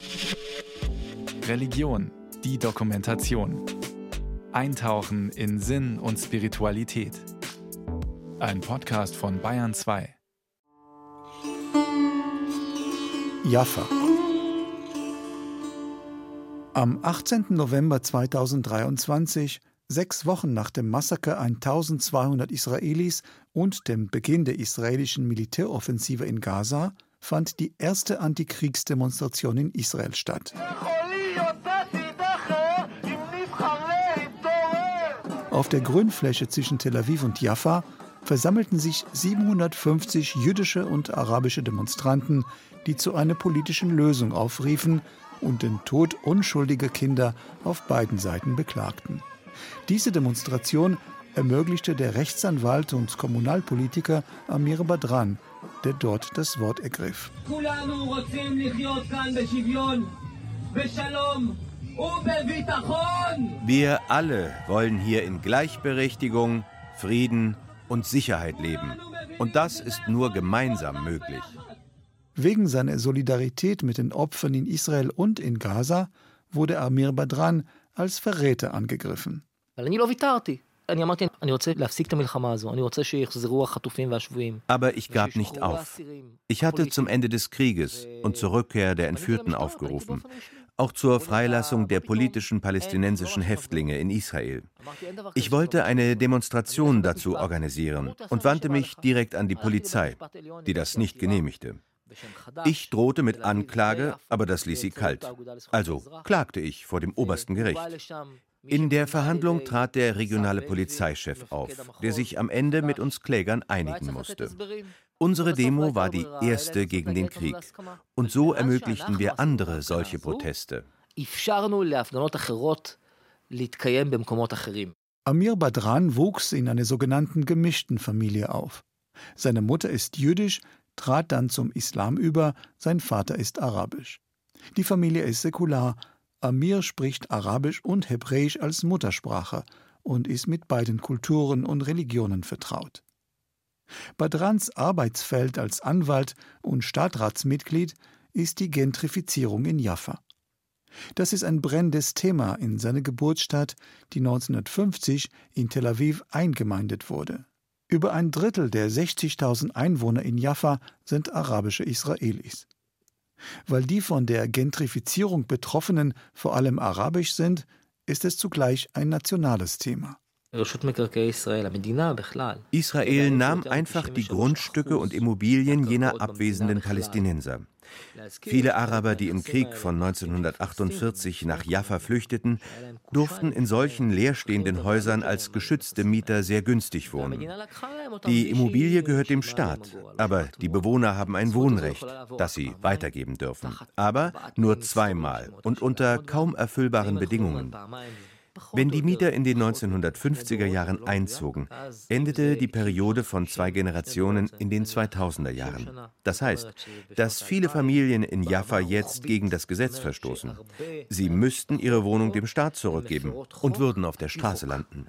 Religion, die Dokumentation. Eintauchen in Sinn und Spiritualität. Ein Podcast von Bayern 2. Jaffa. Am 18. November 2023, 6 Wochen nach dem Massaker 1200 Israelis und dem Beginn der israelischen Militäroffensive in Gaza, fand die erste Antikriegsdemonstration in Israel statt. Auf der Grünfläche zwischen Tel Aviv und Jaffa versammelten sich 750 jüdische und arabische Demonstranten, die zu einer politischen Lösung aufriefen und den Tod unschuldiger Kinder auf beiden Seiten beklagten. Diese Demonstration ermöglichte der Rechtsanwalt und Kommunalpolitiker Amir Badran, der dort das Wort ergriff. Wir alle wollen hier in Gleichberechtigung, Frieden und Sicherheit leben. Und das ist nur gemeinsam möglich. Wegen seiner Solidarität mit den Opfern in Israel und in Gaza wurde Amir Badran als Verräter angegriffen. Aber ich gab nicht auf. Ich hatte zum Ende des Krieges und zur Rückkehr der Entführten aufgerufen, auch zur Freilassung der politischen palästinensischen Häftlinge in Israel. Ich wollte eine Demonstration dazu organisieren und wandte mich direkt an die Polizei, die das nicht genehmigte. Ich drohte mit Anklage, aber das ließ sie kalt. Also klagte ich vor dem obersten Gericht. In der Verhandlung trat der regionale Polizeichef auf, der sich am Ende mit uns Klägern einigen musste. Unsere Demo war die erste gegen den Krieg. Und so ermöglichten wir andere solche Proteste. Amir Badran wuchs in einer sogenannten gemischten Familie auf. Seine Mutter ist jüdisch, trat dann zum Islam über, sein Vater ist arabisch. Die Familie ist säkular. Amir spricht Arabisch und Hebräisch als Muttersprache und ist mit beiden Kulturen und Religionen vertraut. Badrans Arbeitsfeld als Anwalt und Stadtratsmitglied ist die Gentrifizierung in Jaffa. Das ist ein brennendes Thema in seiner Geburtsstadt, die 1950 in Tel Aviv eingemeindet wurde. Über ein Drittel der 60.000 Einwohner in Jaffa sind arabische Israelis. Weil die von der Gentrifizierung Betroffenen vor allem arabisch sind, ist es zugleich ein nationales Thema. Israel nahm einfach die Grundstücke und Immobilien jener abwesenden Palästinenser. Viele Araber, die im Krieg von 1948 nach Jaffa flüchteten, durften in solchen leerstehenden Häusern als geschützte Mieter sehr günstig wohnen. Die Immobilie gehört dem Staat, aber die Bewohner haben ein Wohnrecht, das sie weitergeben dürfen. Aber nur zweimal und unter kaum erfüllbaren Bedingungen. Wenn die Mieter in den 1950er Jahren einzogen, endete die Periode von 2 Generationen in den 2000er Jahren. Das heißt, dass viele Familien in Jaffa jetzt gegen das Gesetz verstoßen. Sie müssten ihre Wohnung dem Staat zurückgeben und würden auf der Straße landen.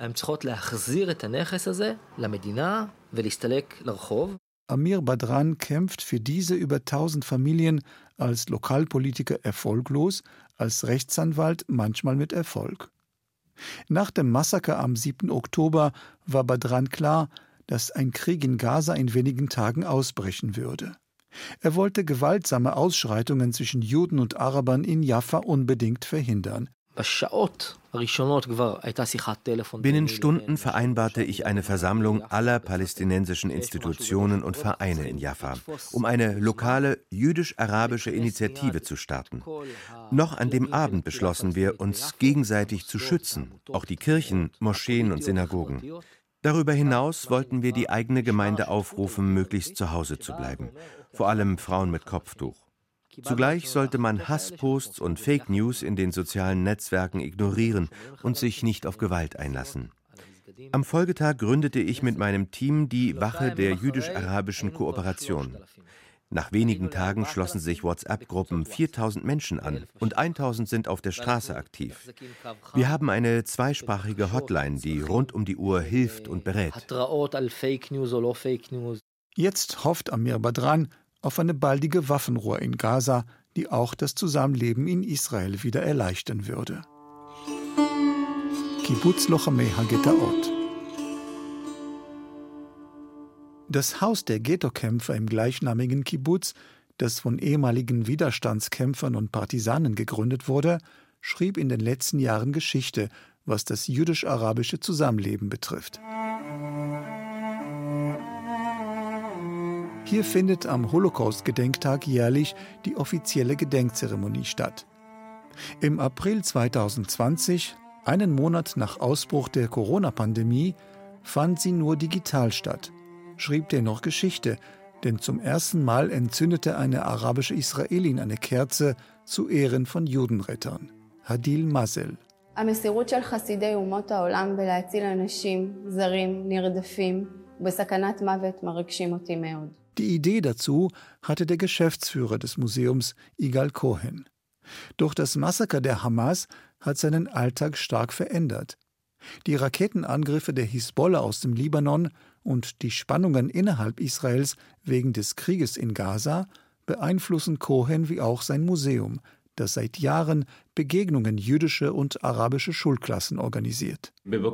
Amir Badran kämpft für diese über 1000 Familien als Lokalpolitiker erfolglos, als Rechtsanwalt manchmal mit Erfolg. Nach dem Massaker am 7. Oktober war Badran klar, dass ein Krieg in Gaza in wenigen Tagen ausbrechen würde. Er wollte gewaltsame Ausschreitungen zwischen Juden und Arabern in Jaffa unbedingt verhindern. Binnen Stunden vereinbarte ich eine Versammlung aller palästinensischen Institutionen und Vereine in Jaffa, um eine lokale jüdisch-arabische Initiative zu starten. Noch an dem Abend beschlossen wir, uns gegenseitig zu schützen, auch die Kirchen, Moscheen und Synagogen. Darüber hinaus wollten wir die eigene Gemeinde aufrufen, möglichst zu Hause zu bleiben, vor allem Frauen mit Kopftuch. Zugleich sollte man Hassposts und Fake News in den sozialen Netzwerken ignorieren und sich nicht auf Gewalt einlassen. Am Folgetag gründete ich mit meinem Team die Wache der jüdisch-arabischen Kooperation. Nach wenigen Tagen schlossen sich WhatsApp-Gruppen 4000 Menschen an und 1000 sind auf der Straße aktiv. Wir haben eine zweisprachige Hotline, die rund um die Uhr hilft und berät. Jetzt hofft Amir Badran auf eine baldige Waffenruhe in Gaza, die auch das Zusammenleben in Israel wieder erleichtern würde. Kibbutz Lochamei HaGetaot. Das Haus der Ghettokämpfer im gleichnamigen Kibbutz, das von ehemaligen Widerstandskämpfern und Partisanen gegründet wurde, schrieb in den letzten Jahren Geschichte, was das jüdisch-arabische Zusammenleben betrifft. Hier findet am Holocaust-Gedenktag jährlich die offizielle Gedenkzeremonie statt. Im April 2020, einen Monat nach Ausbruch der Corona-Pandemie, fand sie nur digital statt, schrieb dennoch Geschichte, denn zum ersten Mal entzündete eine arabische Israelin eine Kerze zu Ehren von Judenrettern. Hadil Mazel. המסירות של חסידי אומות העולם בלהציל אנשים זרים נרדפים ובסכנת מוות מרגשים אותי מאוד. Die Idee dazu hatte der Geschäftsführer des Museums Igal Cohen. Doch das Massaker der Hamas hat seinen Alltag stark verändert. Die Raketenangriffe der Hisbollah aus dem Libanon und die Spannungen innerhalb Israels wegen des Krieges in Gaza beeinflussen Cohen wie auch sein Museum, das seit Jahren Begegnungen jüdischer und arabischer Schulklassen organisiert.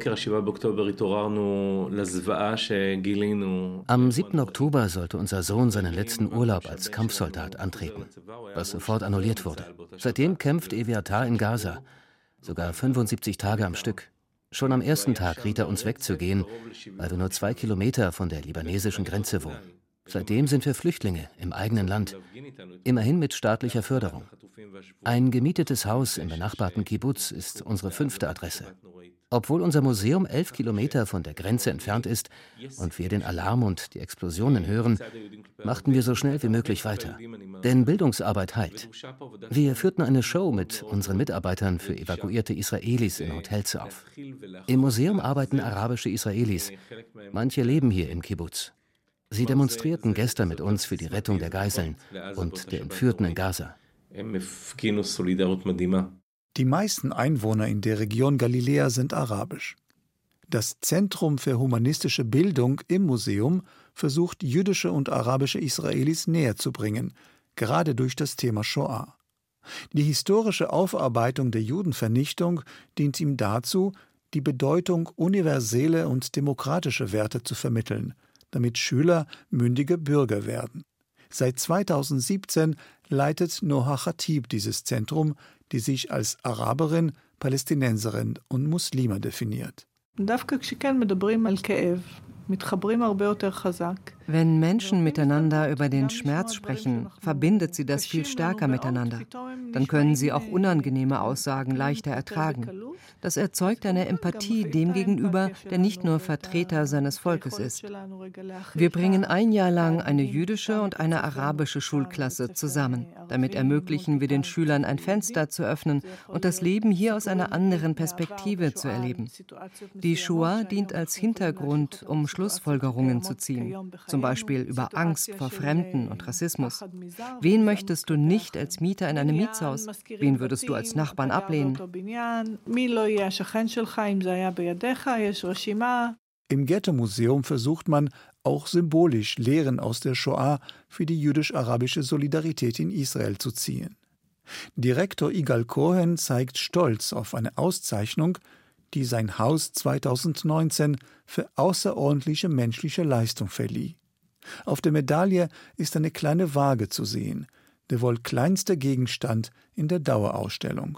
Am 7. Oktober sollte unser Sohn seinen letzten Urlaub als Kampfsoldat antreten, was sofort annulliert wurde. Seitdem kämpft Eviatar in Gaza, sogar 75 Tage am Stück. Schon am ersten Tag riet er uns wegzugehen, weil wir nur 2 Kilometer von der libanesischen Grenze wohnen. Seitdem sind wir Flüchtlinge im eigenen Land, immerhin mit staatlicher Förderung. Ein gemietetes Haus im benachbarten Kibbutz ist unsere 5. Adresse. Obwohl unser Museum 11 Kilometer von der Grenze entfernt ist und wir den Alarm und die Explosionen hören, machten wir so schnell wie möglich weiter. Denn Bildungsarbeit heilt. Wir führten eine Show mit unseren Mitarbeitern für evakuierte Israelis in Hotels auf. Im Museum arbeiten arabische Israelis. Manche leben hier im Kibbutz. Sie demonstrierten gestern mit uns für die Rettung der Geiseln und der Entführten in Gaza. Die meisten Einwohner in der Region Galiläa sind arabisch. Das Zentrum für humanistische Bildung im Museum versucht, jüdische und arabische Israelis näher zu bringen, gerade durch das Thema Shoah. Die historische Aufarbeitung der Judenvernichtung dient ihm dazu, die Bedeutung universelle und demokratische Werte zu vermitteln, damit Schüler mündige Bürger werden. Seit 2017 leitet Noha Khatib dieses Zentrum, die sich als Araberin, Palästinenserin und Muslima definiert. Wenn Menschen miteinander über den Schmerz sprechen, verbindet sie das viel stärker miteinander. Dann können sie auch unangenehme Aussagen leichter ertragen. Das erzeugt eine Empathie dem gegenüber, der nicht nur Vertreter seines Volkes ist. Wir bringen ein Jahr lang eine jüdische und eine arabische Schulklasse zusammen. Damit ermöglichen wir den Schülern, ein Fenster zu öffnen und das Leben hier aus einer anderen Perspektive zu erleben. Die Shoah dient als Hintergrund, um Schlussfolgerungen zu ziehen, zum Beispiel über Angst vor Fremden und Rassismus. Wen möchtest du nicht als Mieter in einem Mietshaus? Wen würdest du als Nachbarn ablehnen? Im Ghetto-Museum versucht man, auch symbolisch Lehren aus der Shoah für die jüdisch-arabische Solidarität in Israel zu ziehen. Direktor Igal Cohen zeigt stolz auf eine Auszeichnung, die sein Haus 2019 für außerordentliche menschliche Leistung verlieh. Auf der Medaille ist eine kleine Waage zu sehen, der wohl kleinste Gegenstand in der Dauerausstellung.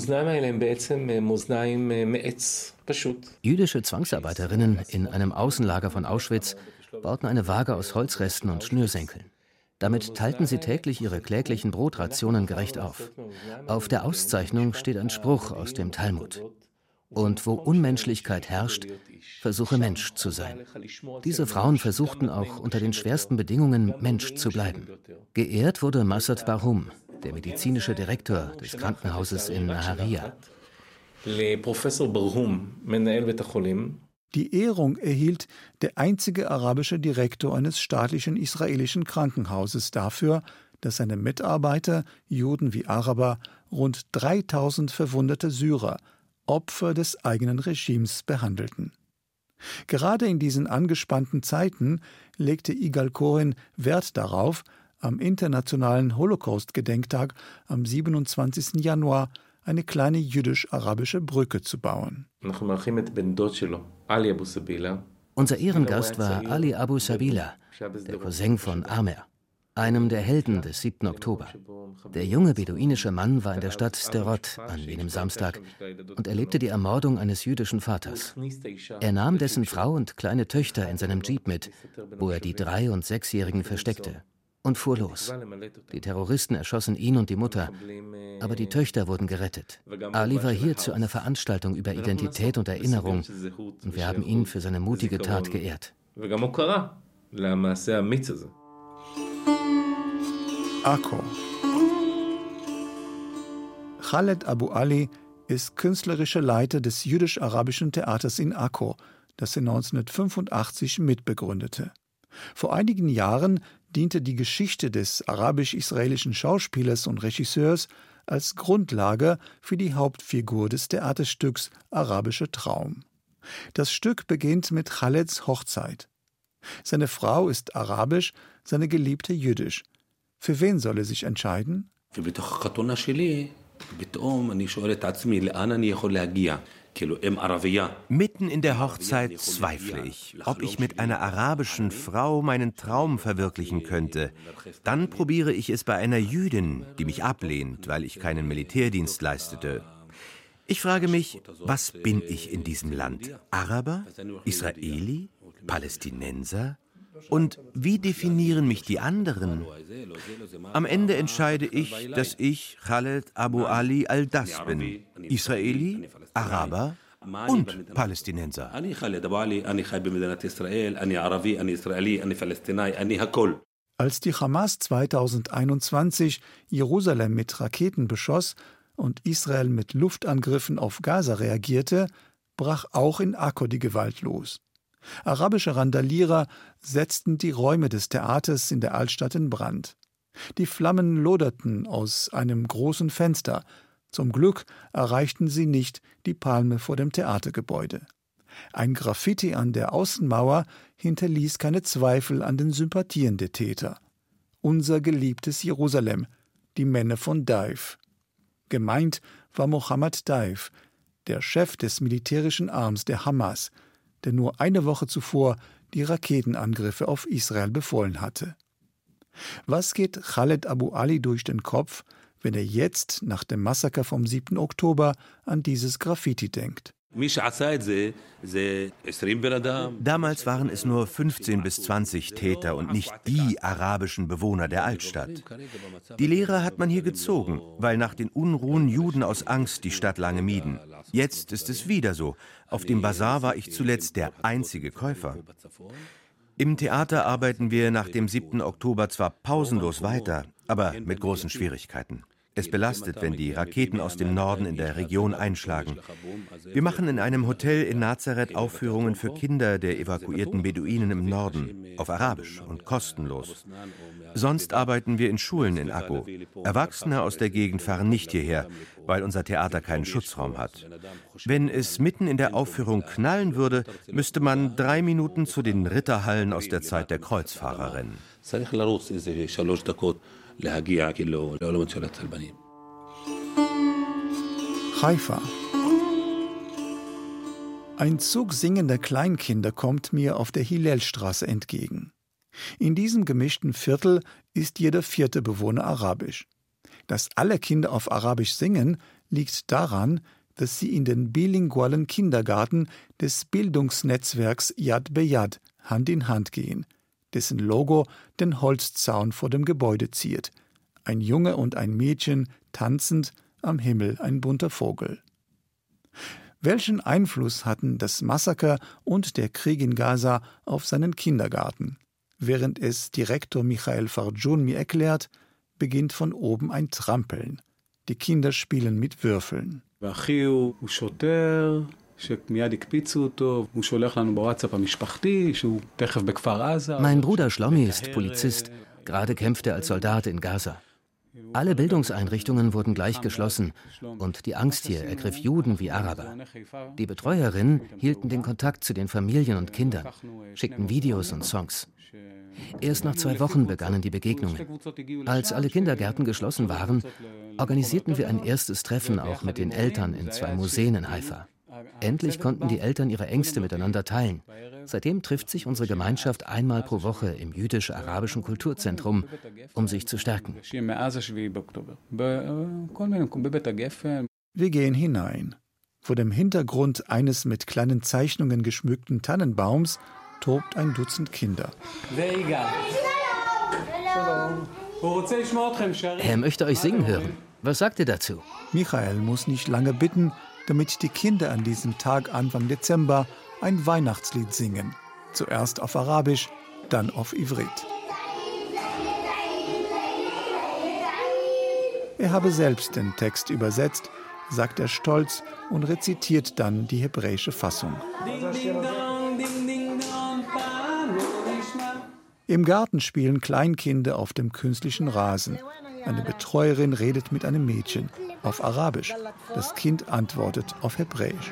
Jüdische Zwangsarbeiterinnen in einem Außenlager von Auschwitz bauten eine Waage aus Holzresten und Schnürsenkeln. Damit teilten sie täglich ihre kläglichen Brotrationen gerecht auf. Auf der Auszeichnung steht ein Spruch aus dem Talmud. Und wo Unmenschlichkeit herrscht, versuche Mensch zu sein. Diese Frauen versuchten auch unter den schwersten Bedingungen Mensch zu bleiben. Geehrt wurde Massad Barhum, der medizinische Direktor des Krankenhauses in Nahariya. Die Ehrung erhielt der einzige arabische Direktor eines staatlichen israelischen Krankenhauses dafür, dass seine Mitarbeiter, Juden wie Araber, rund 3000 verwundete Syrer, Opfer des eigenen Regimes, behandelten. Gerade in diesen angespannten Zeiten legte Igal Cohen Wert darauf, am internationalen Holocaust-Gedenktag am 27. Januar eine kleine jüdisch-arabische Brücke zu bauen. Unser Ehrengast war Ali Abu Sabila, der Cousin von Amer, einem der Helden des 7. Oktober. Der junge beduinische Mann war in der Stadt Sderot an jenem Samstag und erlebte die Ermordung eines jüdischen Vaters. Er nahm dessen Frau und kleine Töchter in seinem Jeep mit, wo er die 3- und 6-Jährigen versteckte, und fuhr los. Die Terroristen erschossen ihn und die Mutter, aber die Töchter wurden gerettet. Ali war hier zu einer Veranstaltung über Identität und Erinnerung und wir haben ihn für seine mutige Tat geehrt. Akko. Khaled Abu Ali ist künstlerischer Leiter des jüdisch-arabischen Theaters in Akko, das er 1985 mitbegründete. Vor einigen Jahren diente die Geschichte des arabisch-israelischen Schauspielers und Regisseurs als Grundlage für die Hauptfigur des Theaterstücks Arabischer Traum. Das Stück beginnt mit Khaleds Hochzeit. Seine Frau ist arabisch, seine Geliebte jüdisch. Für wen soll er sich entscheiden? Mitten in der Hochzeit zweifle ich, ob ich mit einer arabischen Frau meinen Traum verwirklichen könnte. Dann probiere ich es bei einer Jüdin, die mich ablehnt, weil ich keinen Militärdienst leistete. Ich frage mich, was bin ich in diesem Land? Araber? Israeli? Palästinenser? Und wie definieren mich die anderen? Am Ende entscheide ich, dass ich Khaled Abu Ali al-Das bin. Israeli, Araber und Palästinenser. Als die Hamas 2021 Jerusalem mit Raketen beschoss und Israel mit Luftangriffen auf Gaza reagierte, brach auch in Akko die Gewalt los. Arabische Randalierer setzten die Räume des Theaters in der Altstadt in Brand. Die Flammen loderten aus einem großen Fenster. Zum Glück erreichten sie nicht die Palme vor dem Theatergebäude. Ein Graffiti an der Außenmauer hinterließ keine Zweifel an den Sympathien der Täter. Unser geliebtes Jerusalem, die Männer von Daif. Gemeint war Mohammed Daif, der Chef des militärischen Arms der Hamas, der nur eine Woche zuvor die Raketenangriffe auf Israel befohlen hatte. Was geht Khaled Abu Ali durch den Kopf, wenn er jetzt nach dem Massaker vom 7. Oktober an dieses Graffiti denkt? Damals waren es nur 15 bis 20 Täter und nicht die arabischen Bewohner der Altstadt. Die Lehre hat man hier gezogen, weil nach den Unruhen Juden aus Angst die Stadt lange mieden. Jetzt ist es wieder so. Auf dem Basar war ich zuletzt der einzige Käufer. Im Theater arbeiten wir nach dem 7. Oktober zwar pausenlos weiter, aber mit großen Schwierigkeiten. Es belastet, wenn die Raketen aus dem Norden in der Region einschlagen. Wir machen in einem Hotel in Nazareth Aufführungen für Kinder der evakuierten Beduinen im Norden, auf Arabisch und kostenlos. Sonst arbeiten wir in Schulen in Akko. Erwachsene aus der Gegend fahren nicht hierher, weil unser Theater keinen Schutzraum hat. Wenn es mitten in der Aufführung knallen würde, müsste man 3 Minuten zu den Ritterhallen aus der Zeit der Kreuzfahrer rennen. Haifa. Ein Zug singender Kleinkinder kommt mir auf der Hillelstraße entgegen. In diesem gemischten Viertel ist jeder 4. Bewohner arabisch. Dass alle Kinder auf Arabisch singen, liegt daran, dass sie in den bilingualen Kindergarten des Bildungsnetzwerks Yad Beyad Hand in Hand gehen, dessen Logo den Holzzaun vor dem Gebäude ziert. Ein Junge und ein Mädchen tanzend, am Himmel ein bunter Vogel. Welchen Einfluss hatten das Massaker und der Krieg in Gaza auf seinen Kindergarten? Während es Direktor Michael Farjun mir erklärt, beginnt von oben ein Trampeln. Die Kinder spielen mit Würfeln. Mein Bruder Shlomi ist Polizist. Gerade kämpft er als Soldat in Gaza. Alle Bildungseinrichtungen wurden gleich geschlossen und die Angst hier ergriff Juden wie Araber. Die Betreuerinnen hielten den Kontakt zu den Familien und Kindern, schickten Videos und Songs. Erst nach 2 Wochen begannen die Begegnungen. Als alle Kindergärten geschlossen waren, organisierten wir ein erstes Treffen auch mit den Eltern in 2 Museen in Haifa. Endlich konnten die Eltern ihre Ängste miteinander teilen. Seitdem trifft sich unsere Gemeinschaft einmal pro Woche im jüdisch-arabischen Kulturzentrum, um sich zu stärken. Wir gehen hinein. Vor dem Hintergrund eines mit kleinen Zeichnungen geschmückten Tannenbaums tobt ein Dutzend Kinder. Er möchte euch singen hören. Was sagt ihr dazu? Michael muss nicht lange bitten, damit die Kinder an diesem Tag Anfang Dezember ein Weihnachtslied singen. Zuerst auf Arabisch, dann auf Ivrit. Er habe selbst den Text übersetzt, sagt er stolz und rezitiert dann die hebräische Fassung. Im Garten spielen Kleinkinder auf dem künstlichen Rasen. Eine Betreuerin redet mit einem Mädchen auf Arabisch. Das Kind antwortet auf Hebräisch.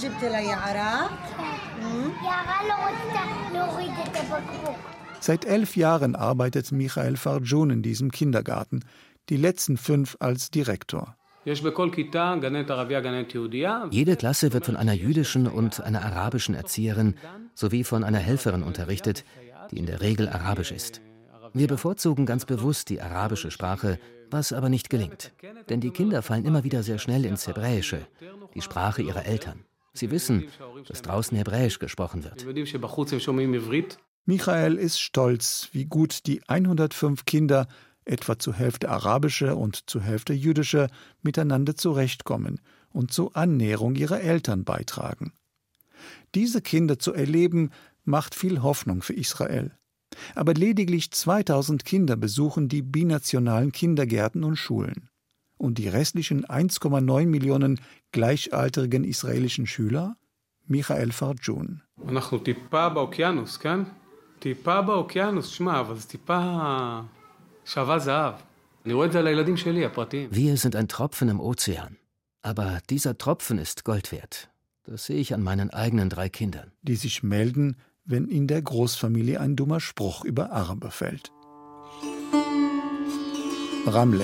Seit 11 Jahren arbeitet Michael Farjun in diesem Kindergarten, die letzten 5 als Direktor. Jede Klasse wird von einer jüdischen und einer arabischen Erzieherin sowie von einer Helferin unterrichtet, die in der Regel arabisch ist. Wir bevorzugen ganz bewusst die arabische Sprache, was aber nicht gelingt. Denn die Kinder fallen immer wieder sehr schnell ins Hebräische, die Sprache ihrer Eltern. Sie wissen, dass draußen Hebräisch gesprochen wird. Michael ist stolz, wie gut die 105 Kinder, etwa zur Hälfte arabische und zur Hälfte jüdische, miteinander zurechtkommen und zur Annäherung ihrer Eltern beitragen. Diese Kinder zu erleben, macht viel Hoffnung für Israel. Aber lediglich 2000 Kinder besuchen die binationalen Kindergärten und Schulen. Und die restlichen 1,9 Millionen gleichaltrigen israelischen Schüler? Michael Farjun. Wir sind ein Tropfen im Ozean. Aber dieser Tropfen ist Gold wert. Das sehe ich an meinen eigenen 3 Kindern. Die sich melden, wenn in der Großfamilie ein dummer Spruch über Araber fällt. Ramle.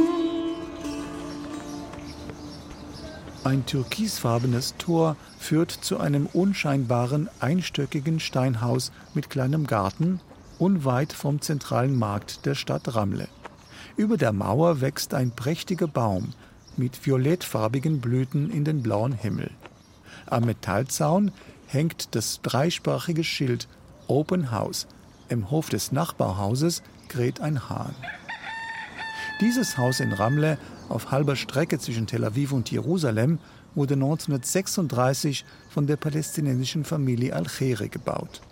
Ein türkisfarbenes Tor führt zu einem unscheinbaren, einstöckigen Steinhaus mit kleinem Garten, unweit vom zentralen Markt der Stadt Ramle. Über der Mauer wächst ein prächtiger Baum mit violettfarbigen Blüten in den blauen Himmel. Am Metallzaun hängt das dreisprachige Schild Open House. Im Hof des Nachbarhauses kräht ein Hahn. Dieses Haus in Ramle, auf halber Strecke zwischen Tel Aviv und Jerusalem, wurde 1936 von der palästinensischen Familie Al-Khere gebaut.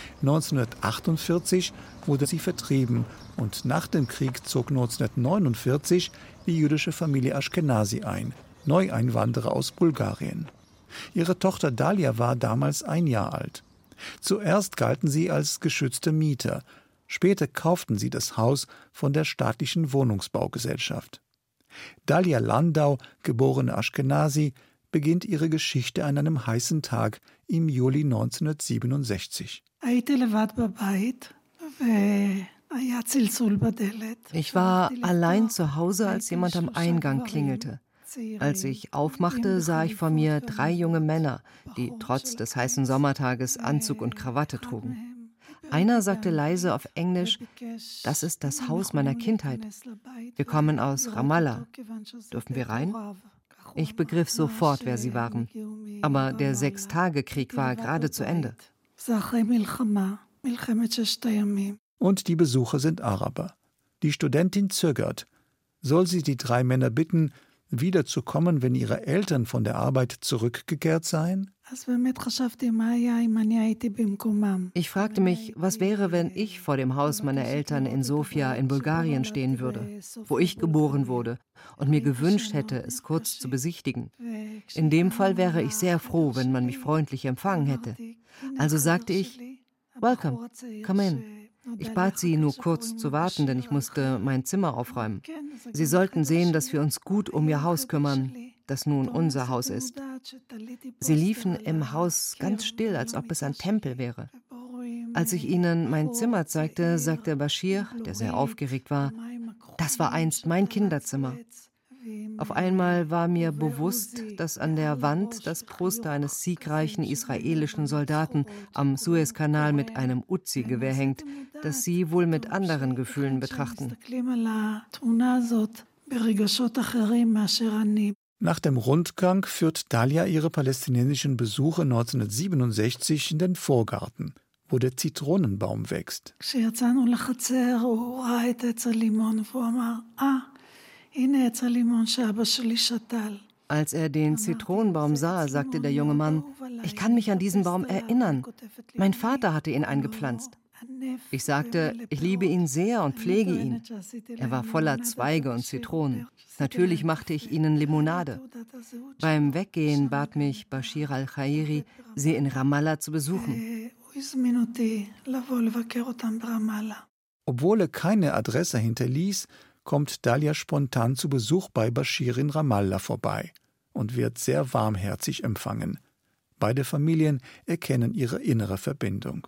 1948 wurde sie vertrieben und nach dem Krieg zog 1949 die jüdische Familie Ashkenazi ein, Neueinwanderer aus Bulgarien. Ihre Tochter Dalia war damals 1 Jahr alt. Zuerst galten sie als geschützte Mieter. Später kauften sie das Haus von der staatlichen Wohnungsbaugesellschaft. Dalia Landau, geborene Ashkenazi, beginnt ihre Geschichte an einem heißen Tag im Juli 1967. Ich war allein zu Hause, als jemand am Eingang klingelte. Als ich aufmachte, sah ich vor mir 3 junge Männer, die trotz des heißen Sommertages Anzug und Krawatte trugen. Einer sagte leise auf Englisch: „Das ist das Haus meiner Kindheit. Wir kommen aus Ramallah. Dürfen wir rein?“ Ich begriff sofort, wer sie waren. Aber der 6-Tage-Krieg war gerade zu Ende. Und die Besucher sind Araber. Die Studentin zögert. Soll sie die 3 Männer bitten, wiederzukommen, wenn ihre Eltern von der Arbeit zurückgekehrt seien? Ich fragte mich, was wäre, wenn ich vor dem Haus meiner Eltern in Sofia in Bulgarien stehen würde, wo ich geboren wurde, und mir gewünscht hätte, es kurz zu besichtigen. In dem Fall wäre ich sehr froh, wenn man mich freundlich empfangen hätte. Also sagte ich: „Welcome, come in.“ Ich bat sie, nur kurz zu warten, denn ich musste mein Zimmer aufräumen. Sie sollten sehen, dass wir uns gut um ihr Haus kümmern, das nun unser Haus ist. Sie liefen im Haus ganz still, als ob es ein Tempel wäre. Als ich ihnen mein Zimmer zeigte, sagte Bashir, der sehr aufgeregt war, das war einst mein Kinderzimmer. Auf einmal war mir bewusst, dass an der Wand das Poster eines siegreichen israelischen Soldaten am Suezkanal mit einem Uzi-Gewehr hängt, das sie wohl mit anderen Gefühlen betrachten. Nach dem Rundgang führt Dalia ihre palästinensischen Besuche 1967 in den Vorgarten, wo der Zitronenbaum wächst. Als er den Zitronenbaum sah, sagte der junge Mann, ich kann mich an diesen Baum erinnern. Mein Vater hatte ihn eingepflanzt. Ich sagte, ich liebe ihn sehr und pflege ihn. Er war voller Zweige und Zitronen. Natürlich machte ich ihnen Limonade. Beim Weggehen bat mich Bashir al-Khairi, sie in Ramallah zu besuchen. Obwohl er keine Adresse hinterließ, kommt Dalia spontan zu Besuch bei Bashir in Ramallah vorbei und wird sehr warmherzig empfangen. Beide Familien erkennen ihre innere Verbindung.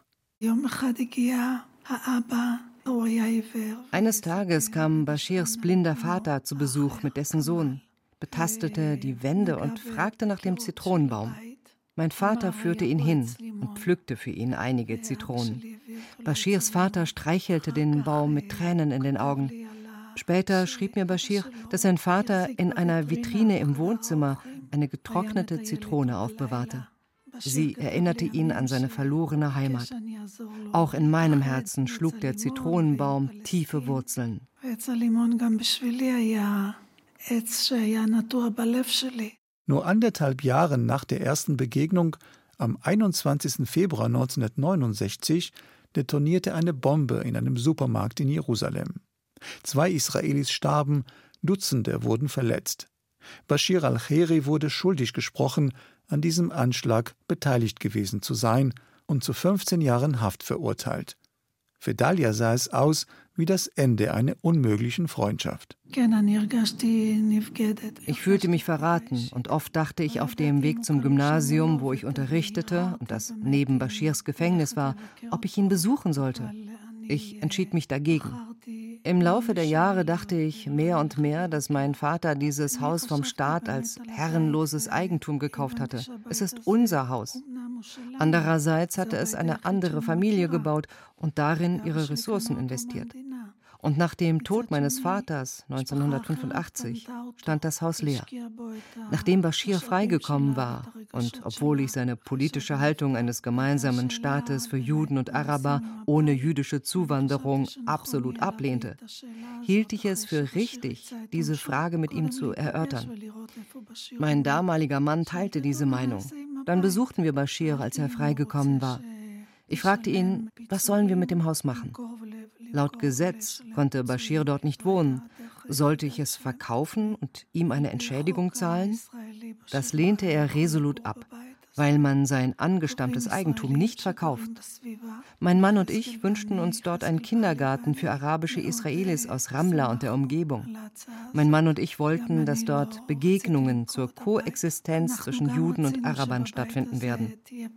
Eines Tages kam Bashirs blinder Vater zu Besuch mit dessen Sohn, betastete die Wände und fragte nach dem Zitronenbaum. Mein Vater führte ihn hin und pflückte für ihn einige Zitronen. Bashirs Vater streichelte den Baum mit Tränen in den Augen. Später schrieb mir Bashir, dass sein Vater in einer Vitrine im Wohnzimmer eine getrocknete Zitrone aufbewahrte. Sie erinnerte ihn an seine verlorene Heimat. Auch in meinem Herzen schlug der Zitronenbaum tiefe Wurzeln. Nur 1,5 Jahre nach der ersten Begegnung, am 21. Februar 1969, detonierte eine Bombe in einem Supermarkt in Jerusalem. 2 Israelis starben, Dutzende wurden verletzt. Bashir al-Khairi wurde schuldig gesprochen, an diesem Anschlag beteiligt gewesen zu sein und zu 15 Jahren Haft verurteilt. Für Dalia sah es aus wie das Ende einer unmöglichen Freundschaft. Ich fühlte mich verraten und oft dachte ich auf dem Weg zum Gymnasium, wo ich unterrichtete und das neben Bashirs Gefängnis war, ob ich ihn besuchen sollte. Ich entschied mich dagegen. Im Laufe der Jahre dachte ich mehr und mehr, dass mein Vater dieses Haus vom Staat als herrenloses Eigentum gekauft hatte. Es ist unser Haus. Andererseits hatte es eine andere Familie gebaut und darin ihre Ressourcen investiert. Und nach dem Tod meines Vaters 1985 stand das Haus leer. Nachdem Bashir freigekommen war und obwohl ich seine politische Haltung eines gemeinsamen Staates für Juden und Araber ohne jüdische Zuwanderung absolut ablehnte, hielt ich es für richtig, diese Frage mit ihm zu erörtern. Mein damaliger Mann teilte diese Meinung. Dann besuchten wir Bashir, als er freigekommen war. Ich fragte ihn, was sollen wir mit dem Haus machen? Laut Gesetz konnte Bashir dort nicht wohnen. Sollte ich es verkaufen und ihm eine Entschädigung zahlen? Das lehnte er resolut ab, weil man sein angestammtes Eigentum nicht verkauft. Mein Mann und ich wünschten uns dort einen Kindergarten für arabische Israelis aus Ramla und der Umgebung. Mein Mann und ich wollten, dass dort Begegnungen zur Koexistenz zwischen Juden und Arabern stattfinden werden.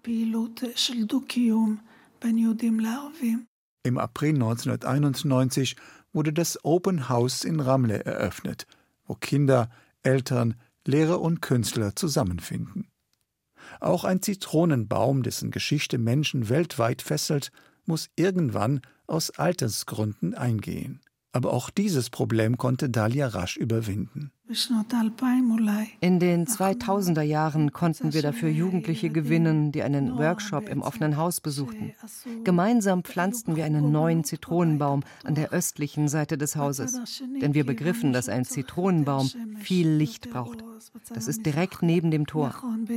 Im April 1991 wurde das Open House in Ramle eröffnet, wo Kinder, Eltern, Lehrer und Künstler zusammenfinden. Auch ein Zitronenbaum, dessen Geschichte Menschen weltweit fesselt, muss irgendwann aus Altersgründen eingehen. Aber auch dieses Problem konnte Dalia rasch überwinden. In den 2000er Jahren konnten wir dafür Jugendliche gewinnen, die einen Workshop im offenen Haus besuchten. Gemeinsam pflanzten wir einen neuen Zitronenbaum an der östlichen Seite des Hauses, denn wir begriffen, dass ein Zitronenbaum viel Licht braucht. Das ist direkt neben dem Tor.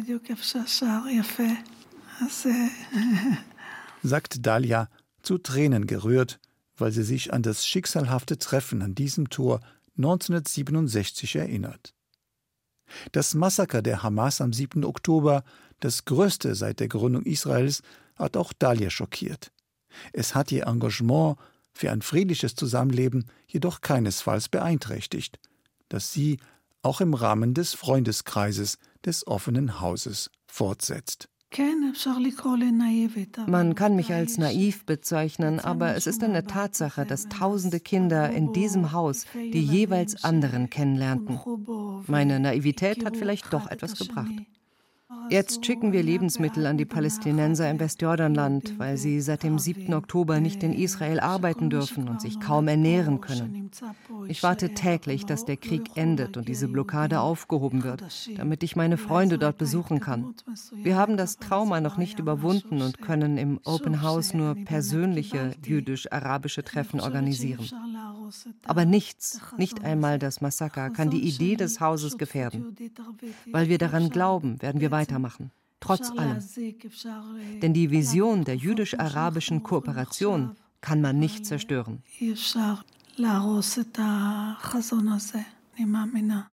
Sagt Dalia, zu Tränen gerührt, weil sie sich an das schicksalhafte Treffen an diesem Tor 1967 erinnert. Das Massaker der Hamas am 7. Oktober, das größte seit der Gründung Israels, hat auch Dalia schockiert. Es hat ihr Engagement für ein friedliches Zusammenleben jedoch keinesfalls beeinträchtigt, das sie auch im Rahmen des Freundeskreises des offenen Hauses fortsetzt. Man kann mich als naiv bezeichnen, aber es ist eine Tatsache, dass tausende Kinder in diesem Haus die jeweils anderen kennenlernten. Meine Naivität hat vielleicht doch etwas gebracht. Jetzt schicken wir Lebensmittel an die Palästinenser im Westjordanland, weil sie seit dem 7. Oktober nicht in Israel arbeiten dürfen und sich kaum ernähren können. Ich warte täglich, dass der Krieg endet und diese Blockade aufgehoben wird, damit ich meine Freunde dort besuchen kann. Wir haben das Trauma noch nicht überwunden und können im Open House nur persönliche jüdisch-arabische Treffen organisieren. Aber nichts, nicht einmal das Massaker, kann die Idee des Hauses gefährden. Weil wir daran glauben, werden wir weitermachen, trotz allem. Denn die Vision der jüdisch-arabischen Kooperation kann man nicht zerstören.